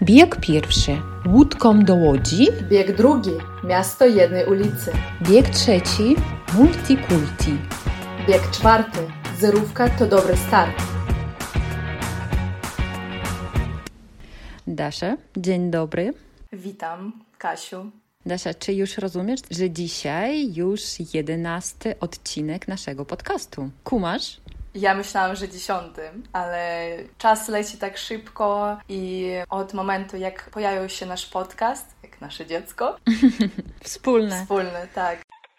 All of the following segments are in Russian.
Bieg pierwszy. Łódką do Łodzi. Bieg drugi. Miasto jednej ulicy. Bieg trzeci. Multikulti. Bieg czwarty. Zerówka to dobry start. Dasza, dzień dobry. Witam, Kasiu. Dasza, czy już rozumiesz, że dzisiaj już 11 odcinek naszego podcastu? Kumasz? Ja myślałam, że 10, ale czas leci tak szybko i od momentu, jak pojawił się nasz podcast, jak nasze dziecko. Wspólne, tak.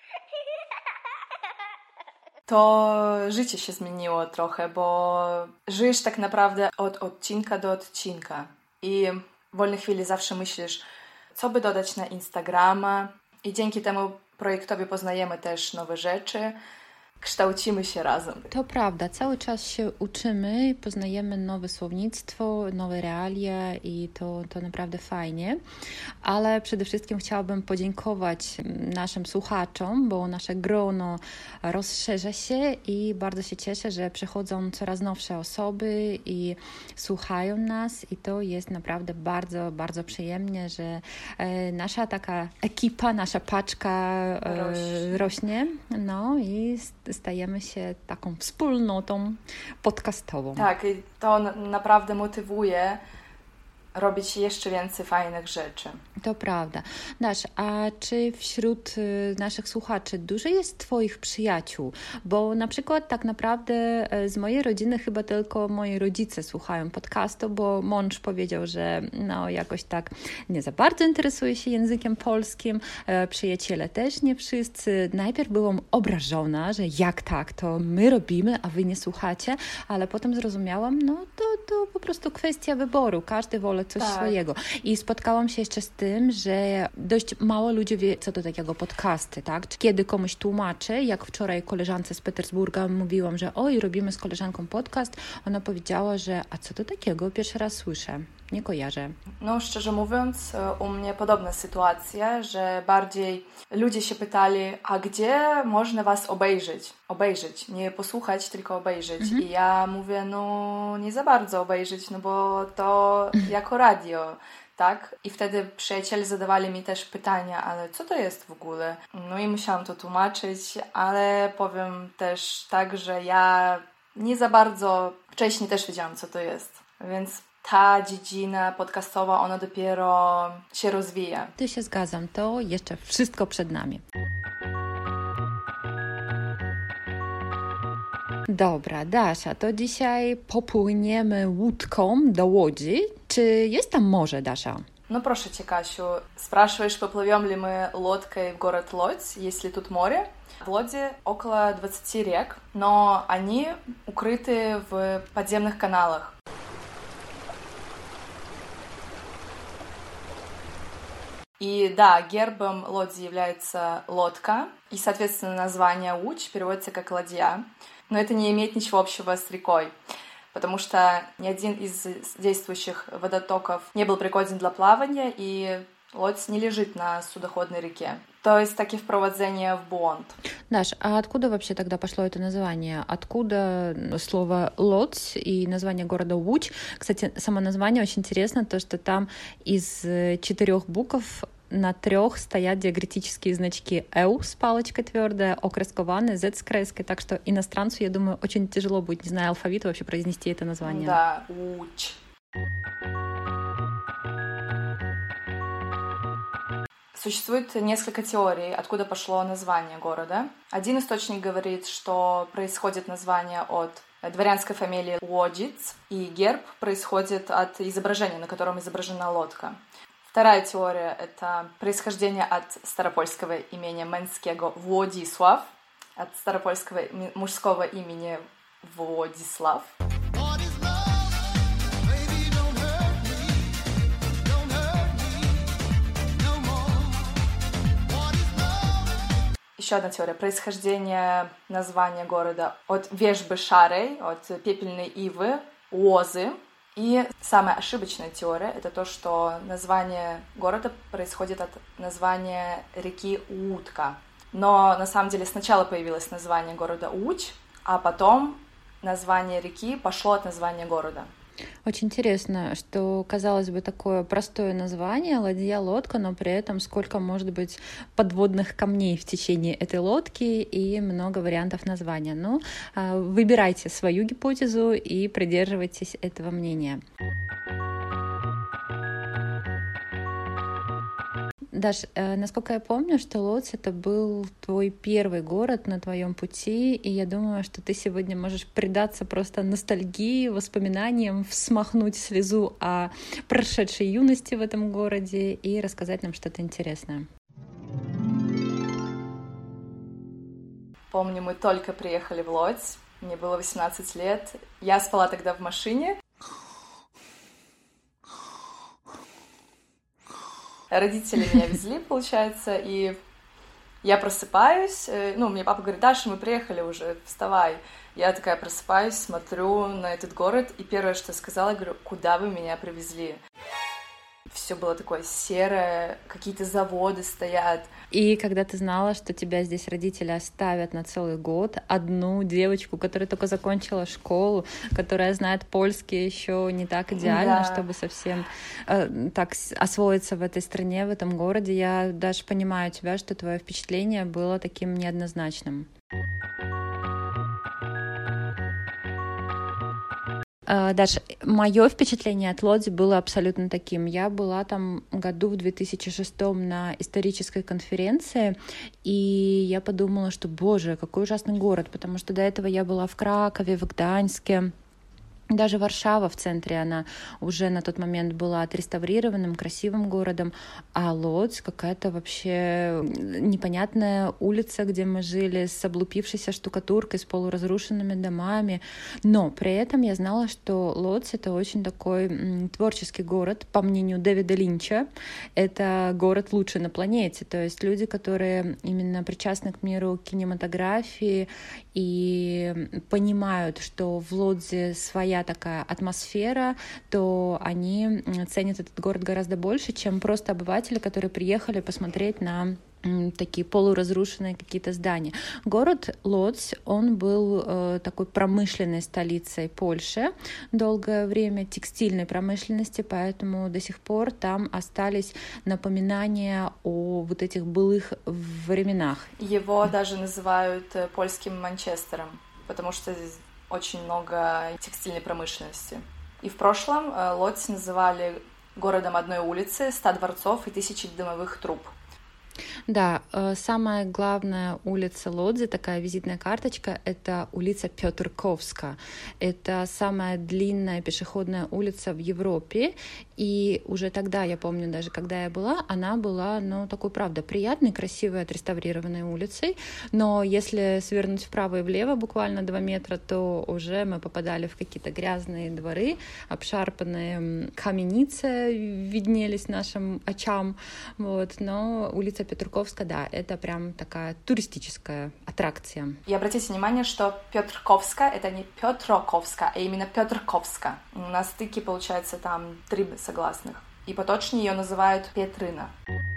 To życie się zmieniło trochę, bo żyjesz tak naprawdę od odcinka do odcinka i w wolnej chwili zawsze myślisz, co by dodać na Instagrama i dzięki temu projektowi poznajemy też nowe rzeczy, kształcimy się razem. To prawda, cały czas się uczymy, poznajemy nowe słownictwo, nowe realia i to naprawdę fajnie, ale przede wszystkim chciałabym podziękować naszym słuchaczom, bo nasze grono rozszerza się i bardzo się cieszę, że przychodzą coraz nowsze osoby i słuchają nas i to jest naprawdę bardzo, bardzo przyjemnie, że nasza taka ekipa, nasza paczka rośnie, no i stajemy się taką wspólnotą podcastową. Tak, i to naprawdę motywuje robić jeszcze więcej fajnych rzeczy. To prawda. Dasz, a czy wśród naszych słuchaczy dużo jest Twoich przyjaciół? Bo na przykład tak naprawdę z mojej rodziny chyba tylko moi rodzice słuchają podcastu, bo mąż powiedział, że no jakoś tak nie za bardzo interesuje się językiem polskim. Przyjaciele też nie wszyscy. Najpierw byłam obrażona, że jak tak, to my robimy, a Wy nie słuchacie, ale potem zrozumiałam, no to po prostu kwestia wyboru. Każdy woli coś swojego. I spotkałam się jeszcze z tym, że dość mało ludzi wie, co to takiego podcasty, tak? Kiedy komuś tłumaczę, jak wczoraj koleżance z Petersburga mówiłam, że oj, robimy z koleżanką podcast, ona powiedziała, że a co to takiego? Pierwszy raz słyszę. Nie kojarzę. No, szczerze mówiąc, u mnie podobna sytuacja, że bardziej ludzie się pytali, a gdzie można was obejrzeć, nie posłuchać, tylko obejrzeć. I ja mówię, no nie za bardzo obejrzeć, no bo to jako radio, tak? I wtedy przyjaciele zadawali mi też pytania, ale co to jest w ogóle? No i musiałam to tłumaczyć, ale powiem też tak, że ja nie za bardzo wcześniej też wiedziałam, co to jest, więc ta dziedzina podcastowa, ona dopiero się rozwija. Ty się zgadzam, to jeszcze wszystko przed nami. Dobra, Dasza, to dzisiaj popłyniemy łódką do Łodzi. Czy jest tam morze, Dasza? Ну, прошу тебя, Касю, спрашиваешь, поплывем ли мы лодкой в город Лодзь, есть ли тут море? В Лодзе около 20 рек, но они укрыты в подземных каналах. И да, гербом Лодзи является лодка, и, соответственно, название Łódź переводится как ладья, но это не имеет ничего общего с рекой, потому что ни один из действующих водотоков не был пригоден для плавания, и Лодзь не лежит на судоходной реке. То есть таки впровождение в бунт. Даш, а откуда вообще тогда пошло это название? Откуда слово «Лодзь» и название города Łódź? Кстати, само название очень интересно, то, что там из 4 букв на 3 стоят диакритические значки «эу» с палочкой твердая, «о» краскованная, «z» с креской, так что иностранцу, я думаю, очень тяжело будет, не зная алфавита, вообще произнести это название. Да, Łódź. Существует несколько теорий, откуда пошло название города. Один источник говорит, что происходит название от дворянской фамилии Łodzic, и герб происходит от изображения, на котором изображена лодка. Вторая теория — это происхождение от старопольского имени мęskiego Władysław, от старопольского мужского имени Władysław. Еще одна теория происхождения названия города от вежбы шарой, от пепельной ивы, лозы. И самая ошибочная теория — это то, что название города происходит от названия реки Łódka. Но на самом деле сначала появилось название города Łódź, а потом название реки пошло от названия города. Очень интересно, что, казалось бы, такое простое название «ладья, лодка», но при этом сколько может быть подводных камней в течение этой лодки и много вариантов названия. Ну, выбирайте свою гипотезу и придерживайтесь этого мнения. Даш, насколько я помню, что Лодзь — это был твой первый город на твоем пути, и я думаю, что ты сегодня можешь предаться просто ностальгии, воспоминаниям, смахнуть слезу о прошедшей юности в этом городе и рассказать нам что-то интересное. Помню, мы только приехали в Лодзь, мне было 18 лет, я спала тогда в машине. Родители меня везли, получается, и я просыпаюсь, мне папа говорит: Даша, мы приехали уже, вставай. Я такая просыпаюсь, смотрю на этот город, и первое, что я сказала, я говорю: куда вы меня привезли? Все было такое серое, какие-то заводы стоят. И когда ты знала, что тебя здесь родители оставят на целый год, одну девочку, которая только закончила школу, которая знает польский еще не так идеально, да, чтобы совсем так освоиться в этой стране, в этом городе, я даже понимаю тебя, что твое впечатление было таким неоднозначным. Даш, мое впечатление от Лодзи было абсолютно таким. Я была там году в 2006 на исторической конференции, и я подумала, что, боже, какой ужасный город, потому что до этого я была в Кракове, в Гданьске. Даже Варшава в центре, она уже на тот момент была отреставрированным, красивым городом, а Лодзь какая-то вообще непонятная улица, где мы жили, с облупившейся штукатуркой, с полуразрушенными домами. Но при этом я знала, что Лодзь — это очень такой творческий город, по мнению Дэвида Линча. Это город лучший на планете, то есть люди, которые именно причастны к миру кинематографии и понимают, что в Лодзе своя такая атмосфера, то они ценят этот город гораздо больше, чем просто обыватели, которые приехали посмотреть на такие полуразрушенные какие-то здания. Город Лодзь, он был такой промышленной столицей Польши долгое время, текстильной промышленности, поэтому до сих пор там остались напоминания о вот этих былых временах. Его даже называют польским Манчестером, потому что здесь очень много текстильной промышленности. И в прошлом Лодзь называли городом одной улицы, 100 дворцов и 1000 дымовых труб. Да, самая главная улица Лодзи, такая визитная карточка, это улица Пётрковска. Это самая длинная пешеходная улица в Европе. И уже тогда, я помню, даже когда я была, она была, такой, правда, приятной, красивой, отреставрированной улицей. Но если свернуть вправо и влево буквально 2 метра, то уже мы попадали в какие-то грязные дворы, обшарпанные каменицы виднелись нашим очам. Вот. Но улица Петруковска, да, это прям такая туристическая аттракция. И обратите внимание, что Пётрковска — это не Пётроковска, а именно Пётрковска. На стыке, получается, там 3 согласных. И поточнее ее называют Петрина.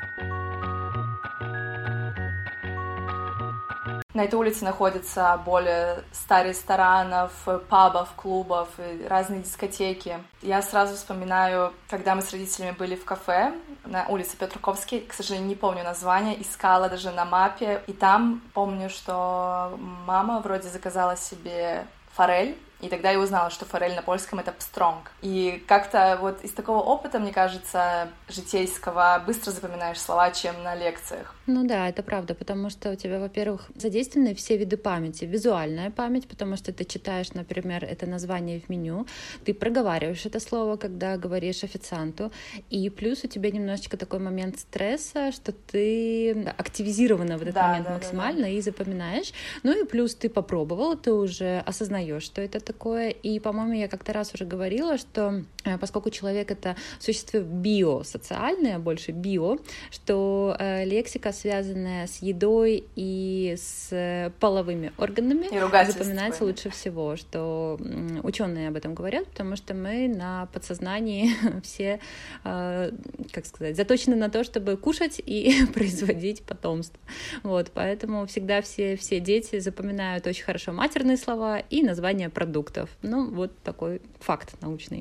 На этой улице находится более 100 ресторанов, пабов, клубов, разные дискотеки. Я сразу вспоминаю, когда мы с родителями были в кафе на улице Петруковской, к сожалению, не помню название, искала даже на мапе, и там помню, что мама вроде заказала себе форель, и тогда я узнала, что форель на польском — это пстронг. И как-то вот из такого опыта, мне кажется, житейского, быстро запоминаешь слова, чем на лекциях. Ну да, это правда, потому что у тебя, во-первых, задействованы все виды памяти. Визуальная память, потому что ты читаешь, например, это название в меню, ты проговариваешь это слово, когда говоришь официанту, и плюс у тебя немножечко такой момент стресса, что ты активизирована в этот момент максимально и запоминаешь. Ну и плюс ты попробовала, ты уже осознаешь, что это такое. И, по-моему, я как-то раз уже говорила, что поскольку человек — это существо биосоциальное, больше био, что лексика, связанная с едой и с половыми органами, запоминается лучше всего, что ученые об этом говорят, потому что мы на подсознании все, как сказать, заточены на то, чтобы кушать и производить потомство. Вот, поэтому всегда все дети запоминают очень хорошо матерные слова и названия продуктов. продуктов. Ну, вот такой факт научный.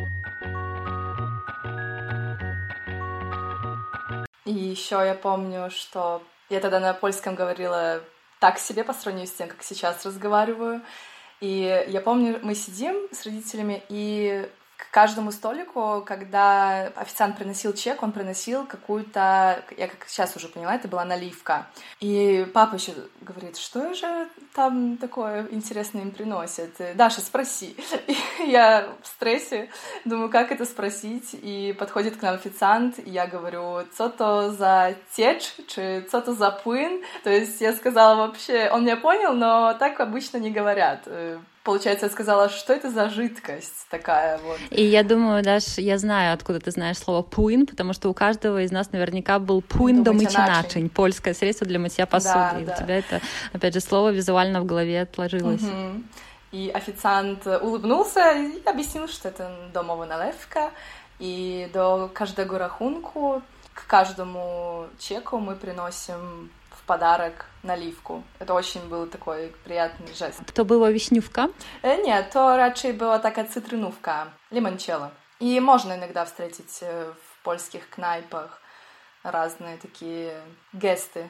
И еще я помню, что я тогда на польском говорила так себе по сравнению с тем, как сейчас разговариваю. И я помню, мы сидим с родителями, и к каждому столику, когда официант приносил чек, он приносил какую-то, я как сейчас уже поняла, это была наливка. И папа еще говорит, что же там такое интересное им приносят? Даша, спроси. И я в стрессе думаю, как это спросить? И подходит к нам официант, и я говорю, что то за течь, что то за плын? То есть я сказала вообще, он меня понял, но так обычно не говорят. Получается, я сказала, что это за жидкость такая вот. И я думаю, Даш, я знаю, откуда ты знаешь слово «плын», потому что у каждого из нас наверняка был «плын до мыcia naczyń», польское средство для мытья посуды. Да, и у тебя это, опять же, слово визуально в голове отложилось. И официант улыбнулся и объяснил, что это домовая наливка, и до каждого рахунку, к каждому чеку мы приносим подарок наливку. Это очень был такой приятный жест. To była wiśniówka? Nie, to raczej była taka cytrynówka, limoncello. И можно иногда встретить в польских knajpach разные такие gesty.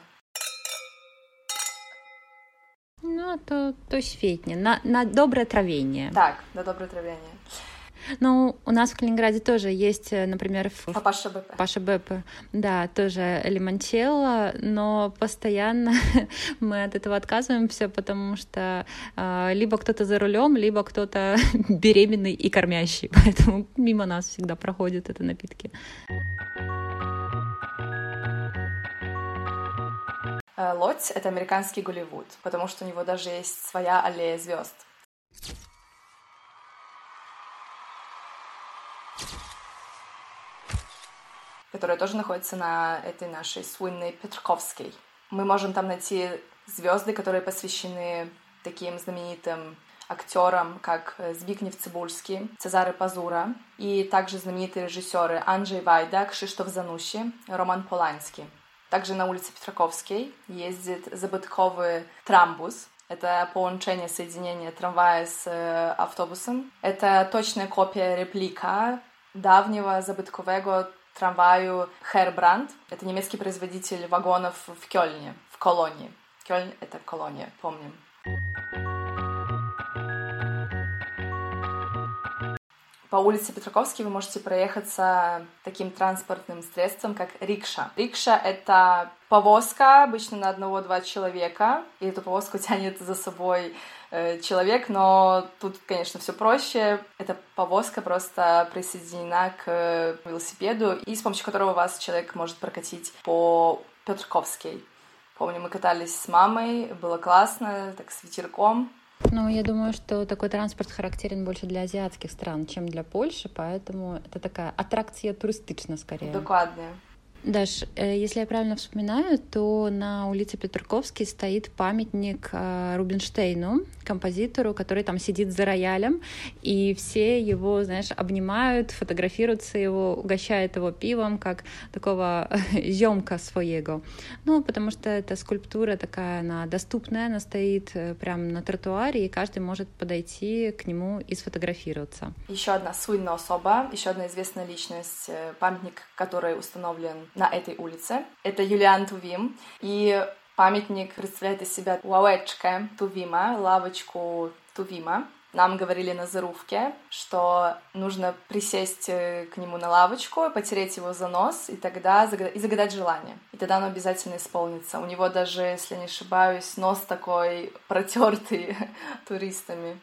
No to świetnie. Na dobre trawienie. Так, на доброе травление. Ну, у нас в Калининграде тоже есть, например, Папаша Беппе, да, тоже лимончелло, но постоянно мы от этого отказываемся, потому что либо кто-то за рулем, либо кто-то беременный и кормящий, поэтому мимо нас всегда проходят эти напитки. Лодзь — это американский Голливуд, потому что у него даже есть своя аллея звезд. Которая тоже находится на этой нашей суинной Петраковской. Мы можем там найти звезды, которые посвящены таким знаменитым актерам, как Збигнев Цибульский, Цезаре Пазура, и также знаменитые режиссеры Анджей Вайда, Кшиштоф Занусси, Роман Поланский. Также на улице Петраковской ездит забытковый трамбус. Это поłączение, соединение трамвая с автобусом. Это точная копия, реплика давнего забыткового трамваю Herbrand. Это немецкий производитель вагонов в Кёльне, в Колонии. Кёльн — это колония, помним. По улице Петраковской вы можете проехаться таким транспортным средством, как рикша. Рикша — это повозка, обычно на 1-2 человека, и эту повозку тянет за собой человек, но тут, конечно, все проще. Эта повозка просто присоединена к велосипеду, и с помощью которого вас человек может прокатить по Петраковской. Помню, мы катались с мамой, было классно, так с ветерком. Ну, я думаю, что такой транспорт характерен больше для азиатских стран, чем для Польши, поэтому это такая аттракция туристичная скорее. Докладно. Даш, если я правильно вспоминаю, то на улице Петраковской стоит памятник Рубинштейну, композитору, который там сидит за роялем, и все его, знаешь, обнимают, фотографируются его, угощают его пивом, как такого зёмка своего. Ну, потому что эта скульптура такая, она доступная, она стоит прямо на тротуаре, и каждый может подойти к нему и сфотографироваться. Еще одна суинная особа, еще одна известная личность, памятник, который установлен на этой улице. Это Юлиан Тувим. И памятник представляет из себя лавочка Тувима, лавочку Тувима. Нам говорили на зарубке, что нужно присесть к нему на лавочку, потереть его за нос и тогда загадать желание. И тогда оно обязательно исполнится. У него даже, если не ошибаюсь, нос такой протертый туристами.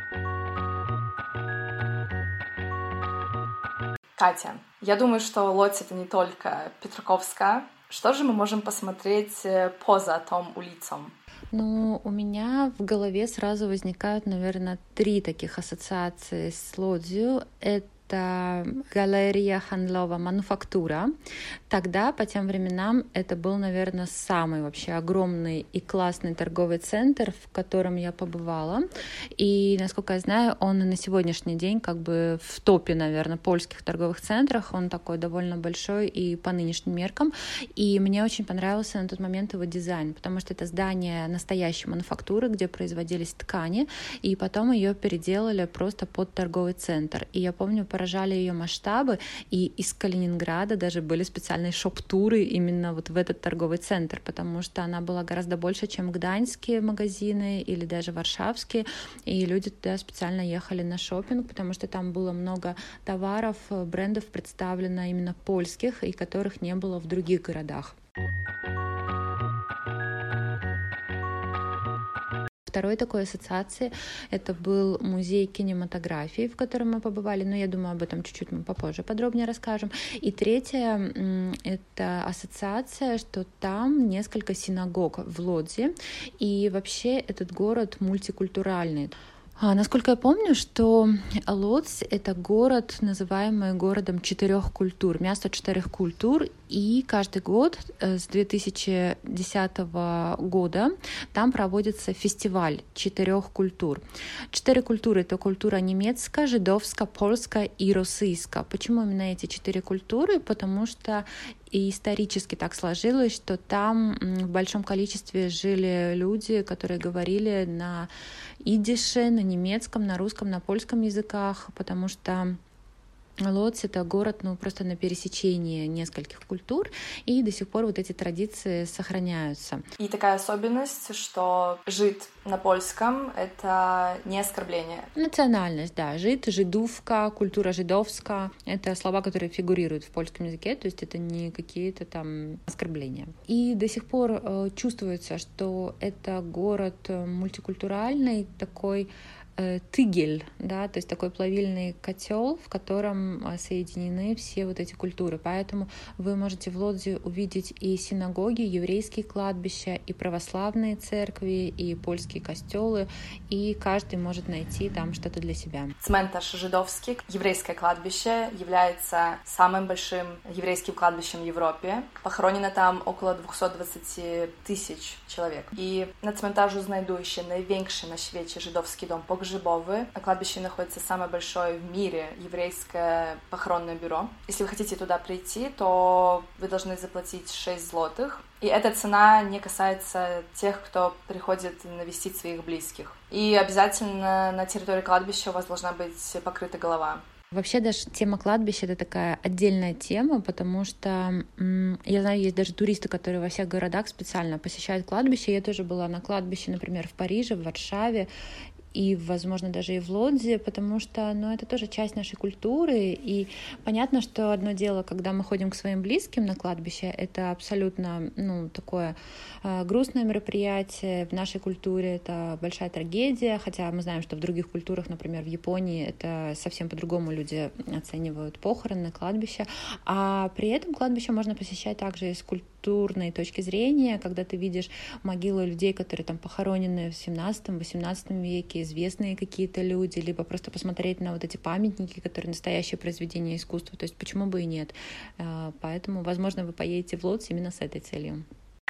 Катя, я думаю, что Лодзь — это не только Петраковская. Что же мы можем посмотреть поза том улицам? Ну, у меня в голове сразу возникают, наверное, 3 таких ассоциации с Лодзью. Это это галерея handlowa «Мануфактура». Тогда, по тем временам, это был, наверное, самый вообще огромный и классный торговый центр, в котором я побывала. И, насколько я знаю, он на сегодняшний день как бы в топе, наверное, польских торговых центрах. Он такой довольно большой и по нынешним меркам. И мне очень понравился на тот момент его дизайн, потому что это здание настоящей мануфактуры, где производились ткани, и потом ее переделали просто под торговый центр. И я помню, поражали ее масштабы, и из Калининграда даже были специальные шоп-туры именно вот в этот торговый центр, потому что она была гораздо больше, чем гданьские магазины или даже варшавские, и люди туда специально ехали на шопинг, потому что там было много товаров, брендов представлено именно польских, и которых не было в других городах. Второй такой ассоциацией это был музей кинематографии, в котором мы побывали, но я думаю, об этом чуть-чуть мы попозже подробнее расскажем. И третья — это ассоциация, что там несколько синагог в Лодзи, и вообще этот город мультикультуральный. Насколько я помню, что Лодзь — это город, называемый городом 4 культур, место 4 культур, и каждый год с 2010 года там проводится фестиваль 4 культур. 4 культуры — это культура немецкая, жидовская, польская и российская. Почему именно эти 4 культуры? Потому что и исторически так сложилось, что там в большом количестве жили люди, которые говорили на идише, на немецком, на русском, на польском языках, потому что Лодзь — это город, просто на пересечении нескольких культур, и до сих пор вот эти традиции сохраняются. И такая особенность, что жид на польском — это не оскорбление. Национальность, да. Жид, жидовка, культура жидовская — это слова, которые фигурируют в польском языке, то есть это не какие-то там оскорбления. И до сих пор чувствуется, что это город мультикультуральный, такой тыгель, да, то есть такой плавильный котел, в котором соединены все вот эти культуры. Поэтому вы можете в Лодзи увидеть и синагоги, еврейские кладбища, и православные церкви, и польские костелы, и каждый может найти там что-то для себя. Цментаж жидовский, еврейское кладбище, является самым большим еврейским кладбищем в Европе. Похоронено там около 220 тысяч человек. И на цментажу знайдующий największy на świecie żydowski dom pogrzebowy. На кладбище находится самое большое в мире еврейское похоронное бюро. Если вы хотите туда прийти, то вы должны заплатить 6 злотых. И эта цена не касается тех, кто приходит навестить своих близких. И обязательно на территории кладбища у вас должна быть покрыта голова. Вообще даже тема кладбища — это такая отдельная тема, потому что я знаю, есть даже туристы, которые во всех городах специально посещают кладбище. Я тоже была на кладбище, например, в Париже, в Варшаве, и, возможно, даже и в Лодзи, потому что, это тоже часть нашей культуры, и понятно, что одно дело, когда мы ходим к своим близким на кладбище, это абсолютно, такое грустное мероприятие, в нашей культуре это большая трагедия, хотя мы знаем, что в других культурах, например, в Японии, это совсем по-другому люди оценивают похороны, кладбища, а при этом кладбище можно посещать также из культурной точки зрения, когда ты видишь могилы людей, которые там похоронены в 17-18 веке, известные какие-то люди, либо просто посмотреть на вот эти памятники, которые настоящие произведения искусства, то есть почему бы и нет. Поэтому, возможно, вы поедете в Лодзь именно с этой целью.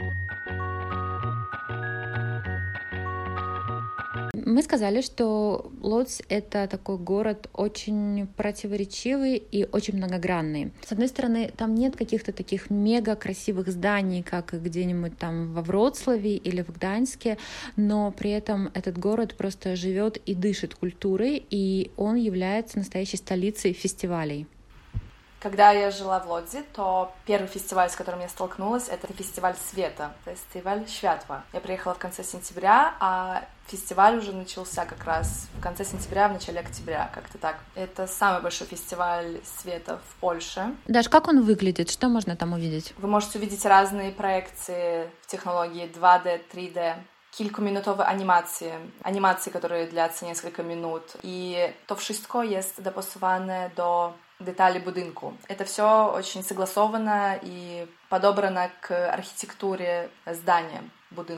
Мы сказали, что Лодзь — это такой город очень противоречивый и очень многогранный. С одной стороны, там нет каких-то таких мега красивых зданий, как где-нибудь там во Вроцлаве или в Гданьске, но при этом этот город просто живет и дышит культурой, и он является настоящей столицей фестивалей. Когда я жила в Лодзи, то первый фестиваль, с которым я столкнулась, это фестиваль света, фестиваль Światła. Я приехала в конце сентября, а фестиваль уже начался как раз в конце сентября, в начале октября, как-то так. Это самый большой фестиваль света в Польше. Даш, как он выглядит? Что можно там увидеть? Вы можете увидеть разные проекции в технологии 2D, 3D, kilkuminutowe animacje, które длятся несколько minut. I to wszystko jest dopasowane do детали будинку. Это все очень согласовано и подобрано к архитектуре здания, будинку.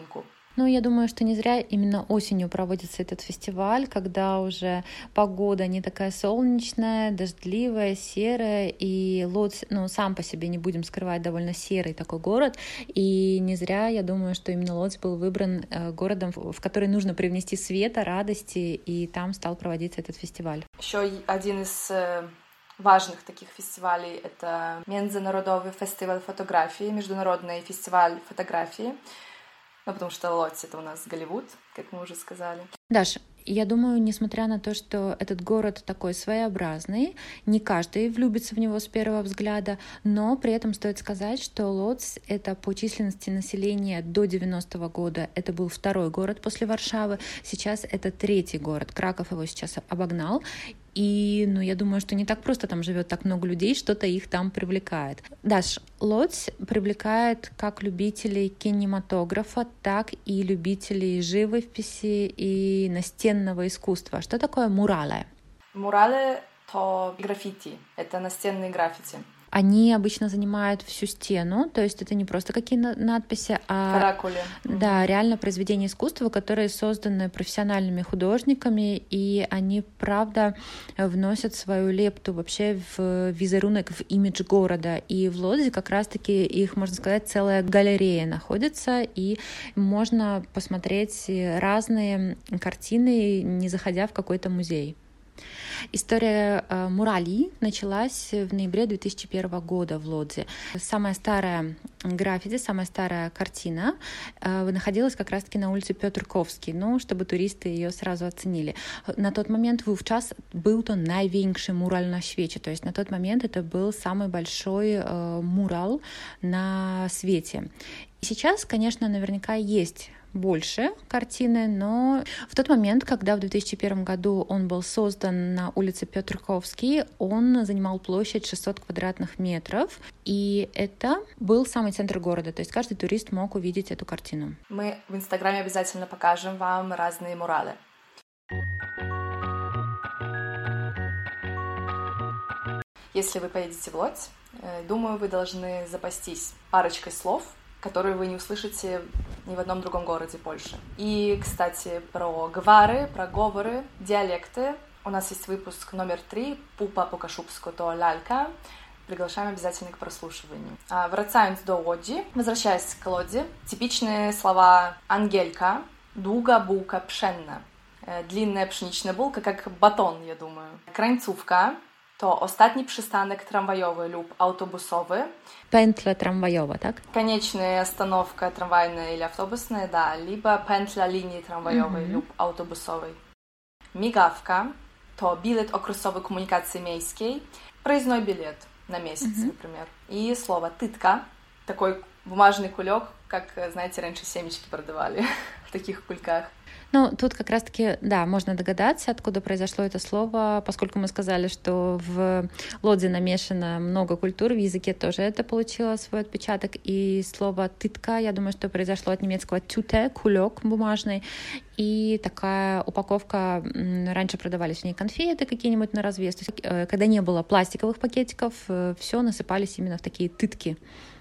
Ну, я думаю, что не зря именно осенью проводится этот фестиваль, когда уже погода не такая солнечная, дождливая, серая, и Лодзь, ну, сам по себе, не будем скрывать, довольно серый такой город, и не зря, я думаю, что именно Лодзь был выбран городом, в который нужно привнести света, радости, и там стал проводиться этот фестиваль. Еще один из важных таких фестивалей — это Международный фестиваль фотографии, Международный фестиваль фотографии. Ну, потому что Лодзь — это у нас Голливуд, как мы уже сказали. Даш, я думаю, несмотря на то, что этот город такой своеобразный, не каждый влюбится в него с первого взгляда, но при этом стоит сказать, что Лодзь — это по численности населения до 90-го года, это был второй город после Варшавы, сейчас это третий город, Краков его сейчас обогнал. И, ну, я думаю, что не так просто там живет так много людей, что-то их там привлекает. Даш, Лодзь привлекает как любителей кинематографа, так и любителей живописи и настенного искусства. Что такое муралы? Муралы — то граффити, это настенные граффити. Они обычно занимают всю стену, то есть это не просто какие надписи, а каракули. Да, реально произведения искусства, которые созданы профессиональными художниками, и они, правда, вносят свою лепту вообще в визерунок, в имидж города. И в Лодзи как раз-таки их, можно сказать, целая галерея находится, и можно посмотреть разные картины, не заходя в какой-то музей. История мурали началась в ноябре 2001 года в Лодзи. Самая старая граффити, самая старая картина находилась как раз-таки на улице Петр Ковский, ну, чтобы туристы ее сразу оценили. На тот момент вовчас был то największy мурал на свете, то есть на тот момент это был самый большой мурал на свете. И сейчас, конечно, наверняка есть больше картины, но в тот момент, когда в 2001 году он был создан на улице Петр Ковский, он занимал площадь 600 квадратных метров, и это был самый центр города, то есть каждый турист мог увидеть эту картину. Мы в Инстаграме обязательно покажем вам разные муралы. Если вы поедете в Лодзь, думаю, вы должны запастись парочкой слов, которые вы не услышите ни в одном другом городе Польши. И, кстати, про гвары, про говоры, диалекты. У нас есть выпуск номер 3 «Пупа по-кашубску то лялька». Приглашаем обязательно к прослушиванию. Wracając do Łodzi, возвращаясь к Лодзи, типичные слова «ангелька», «długa bułka pszenna», длинная пшеничная булка, как батон, я думаю. «Krańcówka» to ostatni przystanek tramwajowy lub autobusowy. Пентля трамваёва, так? Конечная остановка трамвайная или автобусная, да, либо пентля линии трамваjowej lub autobusowej. Migawka to bilet okresowy komunikacji miejskiej, проездной билет на месяц, например. И слово тытка, такой бумажный кулек, как, знаете, раньше семечки продавали в таких кульках. Ну, тут как раз-таки, да, можно догадаться, откуда произошло это слово, поскольку мы сказали, что в Лодзи намешано много культур, в языке тоже это получило свой отпечаток, и слово «тытка», я думаю, что произошло от немецкого «тюте», кулек бумажный, и такая упаковка, раньше продавались в ней конфеты какие-нибудь на развес, то есть, когда не было пластиковых пакетиков, все насыпались именно в такие тытки.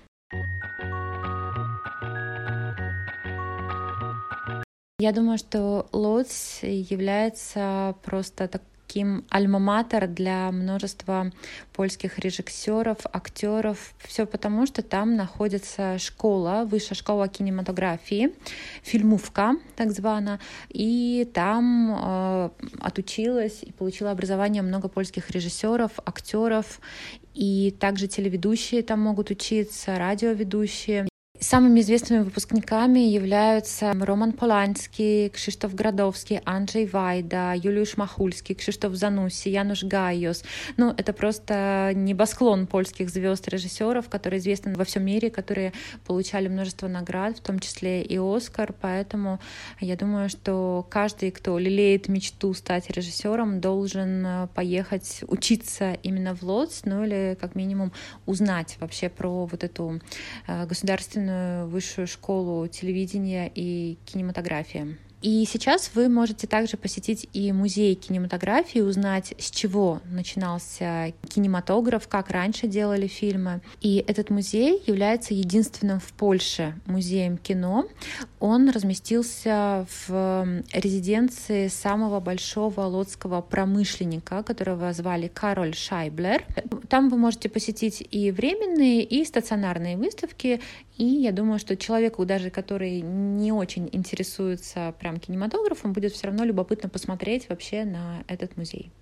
Я думаю, что Лодзь является просто таким альма-матер для множества польских режиссеров, актеров. Все потому, что там находится школа, высшая школа кинематографии, фильмовка, так звана, и там отучилась и получила образование много польских режиссеров, актеров, и также телеведущие там могут учиться, радиоведущие. Самыми известными выпускниками являются Роман Поланский, Krzysztof Gradowski, Andrzej Wajda, Juliusz Machulski, Krzysztof Zanussi, Janusz Gajos. Ну, это просто небосклон польских звезд, режиссеров, которые известны во всем мире, которые получали множество наград, в том числе и Оскар. Поэтому я думаю, что каждый, кто лелеет мечту стать режиссером, должен поехать учиться именно в Лодзь, ну или как минимум узнать вообще про вот эту государственную высшую школу телевидения и кинематографии. И сейчас вы можете также посетить и музей кинематографии, узнать, с чего начинался кинематограф, как раньше делали фильмы. И этот музей является единственным в Польше музеем кино. Он разместился в резиденции самого большого лодского промышленника, которого звали Кароль Шайблер. Там вы можете посетить и временные, и стационарные выставки. И я думаю, что человеку, даже который не очень интересуется прям кинематографом, будет все равно любопытно посмотреть вообще на этот музей.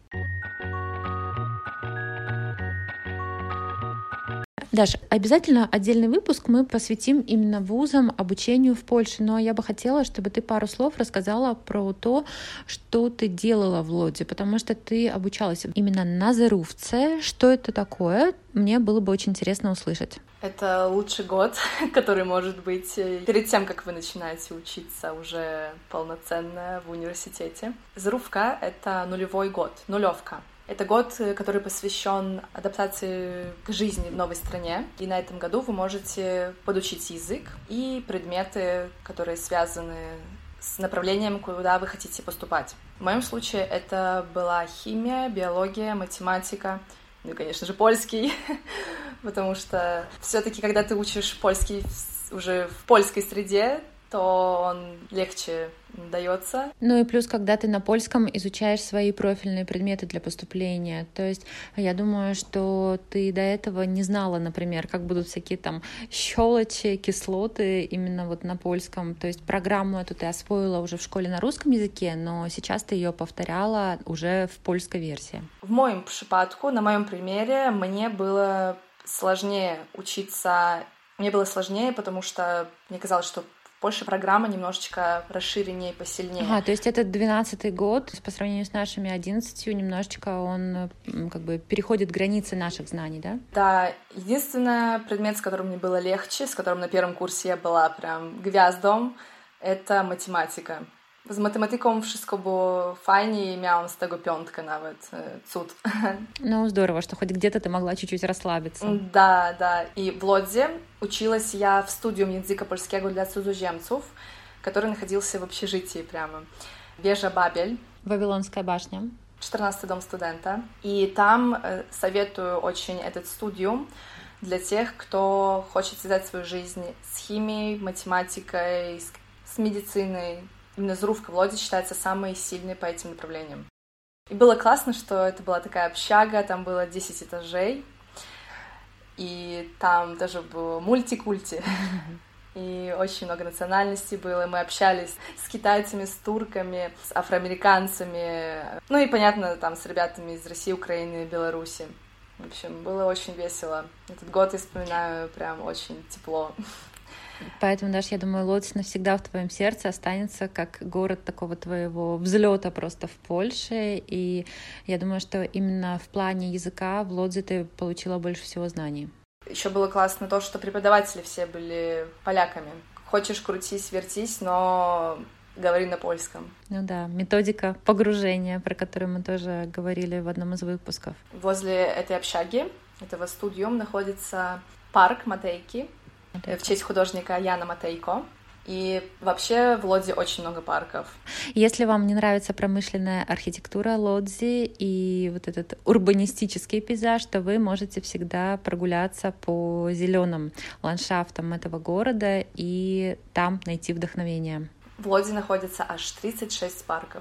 Даш, обязательно отдельный выпуск мы посвятим именно вузам, обучению в Польше, но я бы хотела, чтобы ты пару слов рассказала про то, что ты делала в Лодзи, потому что ты обучалась именно на зерówce. Что это такое? Мне было бы очень интересно услышать. Это лучший год, который может быть перед тем, как вы начинаете учиться уже полноценно в университете. Зерówka — это нулевой год, нулевка. Это год, который посвящен адаптации к жизни в новой стране. И на этом году вы можете подучить язык и предметы, которые связаны с направлением, куда вы хотите поступать. В моем случае это была химия, биология, математика, ну и, конечно же, польский, потому что все-таки, когда ты учишь польский уже в польской среде, то он легче дается. Ну и плюс, когда ты на польском изучаешь свои профильные предметы для поступления. То есть я думаю, что ты до этого не знала, например, как будут всякие там щелочи, кислоты именно вот на польском. То есть программу эту ты освоила уже в школе на русском языке, но сейчас ты ее повторяла уже в польской версии. В моем przypadku, на моем примере, мне было сложнее учиться. Мне было сложнее, потому что мне казалось, что в Польше программа немножечко расширеннее, посильнее. Ага, то есть это 12-й год, по сравнению с нашими 11-ю, немножечко он как бы переходит границы наших знаний, да? Да, единственный предмет, с которым мне было легче, с которым на первом курсе я была прям gwiazdą, это математика. Z matematyką wszystko było fajnie i miałam z tego 5 nawet. Cud. Ну, здорово, что хоть где-то ты могла чуть-чуть расслабиться. Да, да. И в Лодзе училась я в студиум języka polskiego для cudzoziemców, который находился в общежитии прямо. Wieża Babel. Вавилонская башня. 14-й дом студента. И там советую очень этот студиум для тех, кто хочет связать свою жизнь с химией, математикой, с медициной. Именно зерówka в Лодзе считается самой сильной по этим направлениям. И было классно, что это была такая общага, там было 10 этажей, и там даже было мультикульти, и очень много национальностей было. Мы общались с китайцами, с турками, с афроамериканцами, ну и, понятно, там с ребятами из России, Украины, Беларуси. В общем, было очень весело. Этот год я вспоминаю прям очень тепло. Поэтому, Даш, я думаю, Лодзь навсегда в твоем сердце останется как город такого твоего взлета просто в Польше. И я думаю, что именно в плане языка в Лодзе ты получила больше всего знаний. Еще было классно то, что преподаватели все были поляками. Хочешь крутись, вертись, но говори на польском. Ну да, методика погружения, про которую мы тоже говорили в одном из выпусков. Возле этой общаги, этого студиума, находится парк Матейки, в честь художника Яна Матейко. И вообще в Лодзе очень много парков. Если вам не нравится промышленная архитектура Лодзи и вот этот урбанистический пейзаж, то вы можете всегда прогуляться по зеленым ландшафтам этого города и там найти вдохновение. В Лодзе находится аж 36 парков.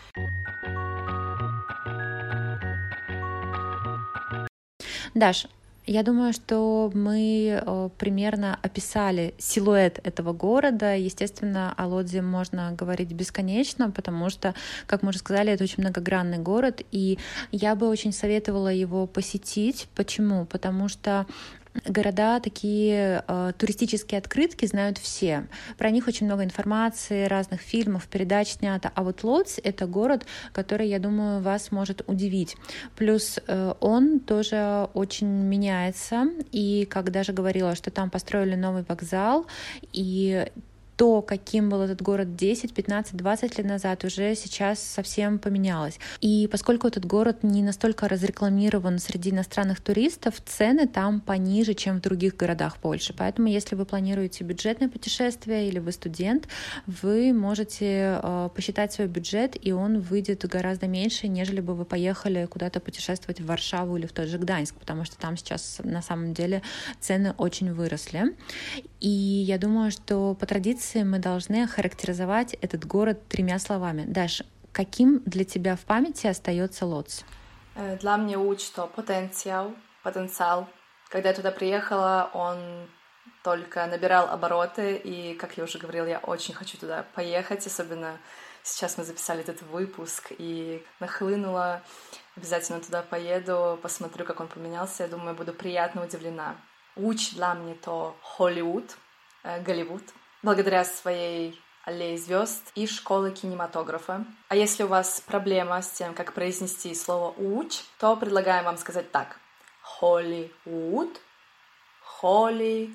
Даш, я думаю, что мы примерно описали силуэт этого города. Естественно, о Лодзе можно говорить бесконечно, потому что, как мы уже сказали, это очень многогранный город, и я бы очень советовала его посетить. Почему? Потому что города, такие туристические открытки знают все. Про них очень много информации, разных фильмов, передач снято. А вот Лодзь — это город, который, я думаю, вас может удивить. Плюс он тоже очень меняется. И как даже говорила, что там построили новый вокзал, и то, каким был этот город 10, 15, 20 лет назад, уже сейчас совсем поменялось. И поскольку этот город не настолько разрекламирован среди иностранных туристов, цены там пониже, чем в других городах Польши. Поэтому, если вы планируете бюджетное путешествие или вы студент, вы можете посчитать свой бюджет, и он выйдет гораздо меньше, нежели бы вы поехали куда-то путешествовать в Варшаву или в тот же Гданьск, потому что там сейчас на самом деле цены очень выросли. И я думаю, что по традиции мы должны охарактеризовать этот город 3 словами. Даш, каким для тебя в памяти остается Лодзь? Для меня Łódź — то потенциал. Когда я туда приехала, он только набирал обороты, и, как я уже говорила, я очень хочу туда поехать, особенно сейчас мы записали этот выпуск, и нахлынула, обязательно туда поеду, посмотрю, как он поменялся, я думаю, буду приятно удивлена. Łódź для меня то Голливуд, благодаря своей аллее звезд и школы кинематографа. А если у вас проблема с тем, как произнести слово «Łódź», то предлагаем вам сказать так: Hollywood, Łódź.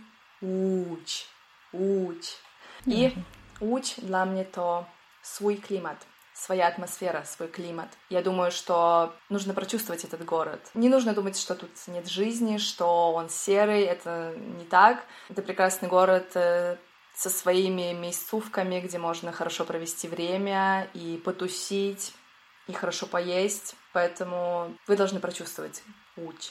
И Łódź для меня то свой климат, своя атмосфера, свой климат. Я думаю, что нужно прочувствовать этот город. Не нужно думать, что тут нет жизни, что он серый. Это не так. Это прекрасный город со своими местувками, где можно хорошо провести время и потусить, и хорошо поесть. Поэтому вы должны прочувствовать Łódź.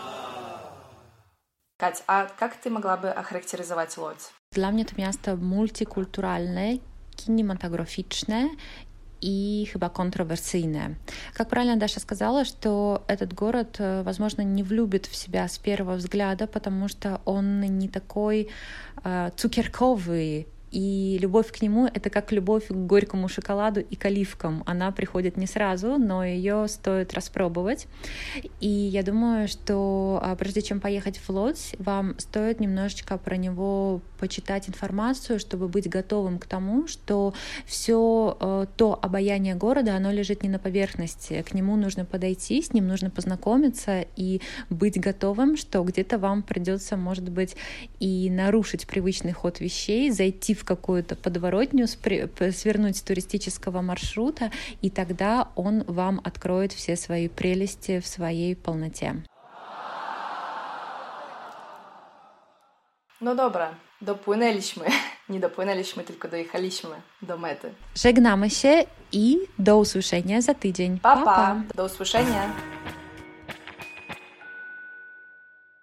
Кать, а как ты могла бы охарактеризовать Лодзь? Dla mnie to miasto multikulturalne, kinematograficzne и chyba контроверсийная. Как правильно Даша сказала, что этот город, возможно, не влюбит в себя с первого взгляда, потому что он не такой цукерковый, и любовь к нему — это как любовь к горькому шоколаду и к оливкам. Она приходит не сразу, но ее стоит распробовать. И я думаю, что прежде чем поехать в Лодзь, вам стоит немножечко про него почитать информацию, чтобы быть готовым к тому, что все то обаяние города, оно лежит не на поверхности. К нему нужно подойти, с ним нужно познакомиться и быть готовым, что где-то вам придется, может быть, и нарушить привычный ход вещей, зайти в какую-то подворотню, свернуть с туристического маршрута, и тогда он вам откроет все свои прелести в своей полноте. No dobra, dopłynęliśmy. Nie dopłynęliśmy, tylko dojechaliśmy do mety. Żegnamy się i do usłyszenia za tydzień. Pa, pa. Do usłyszenia.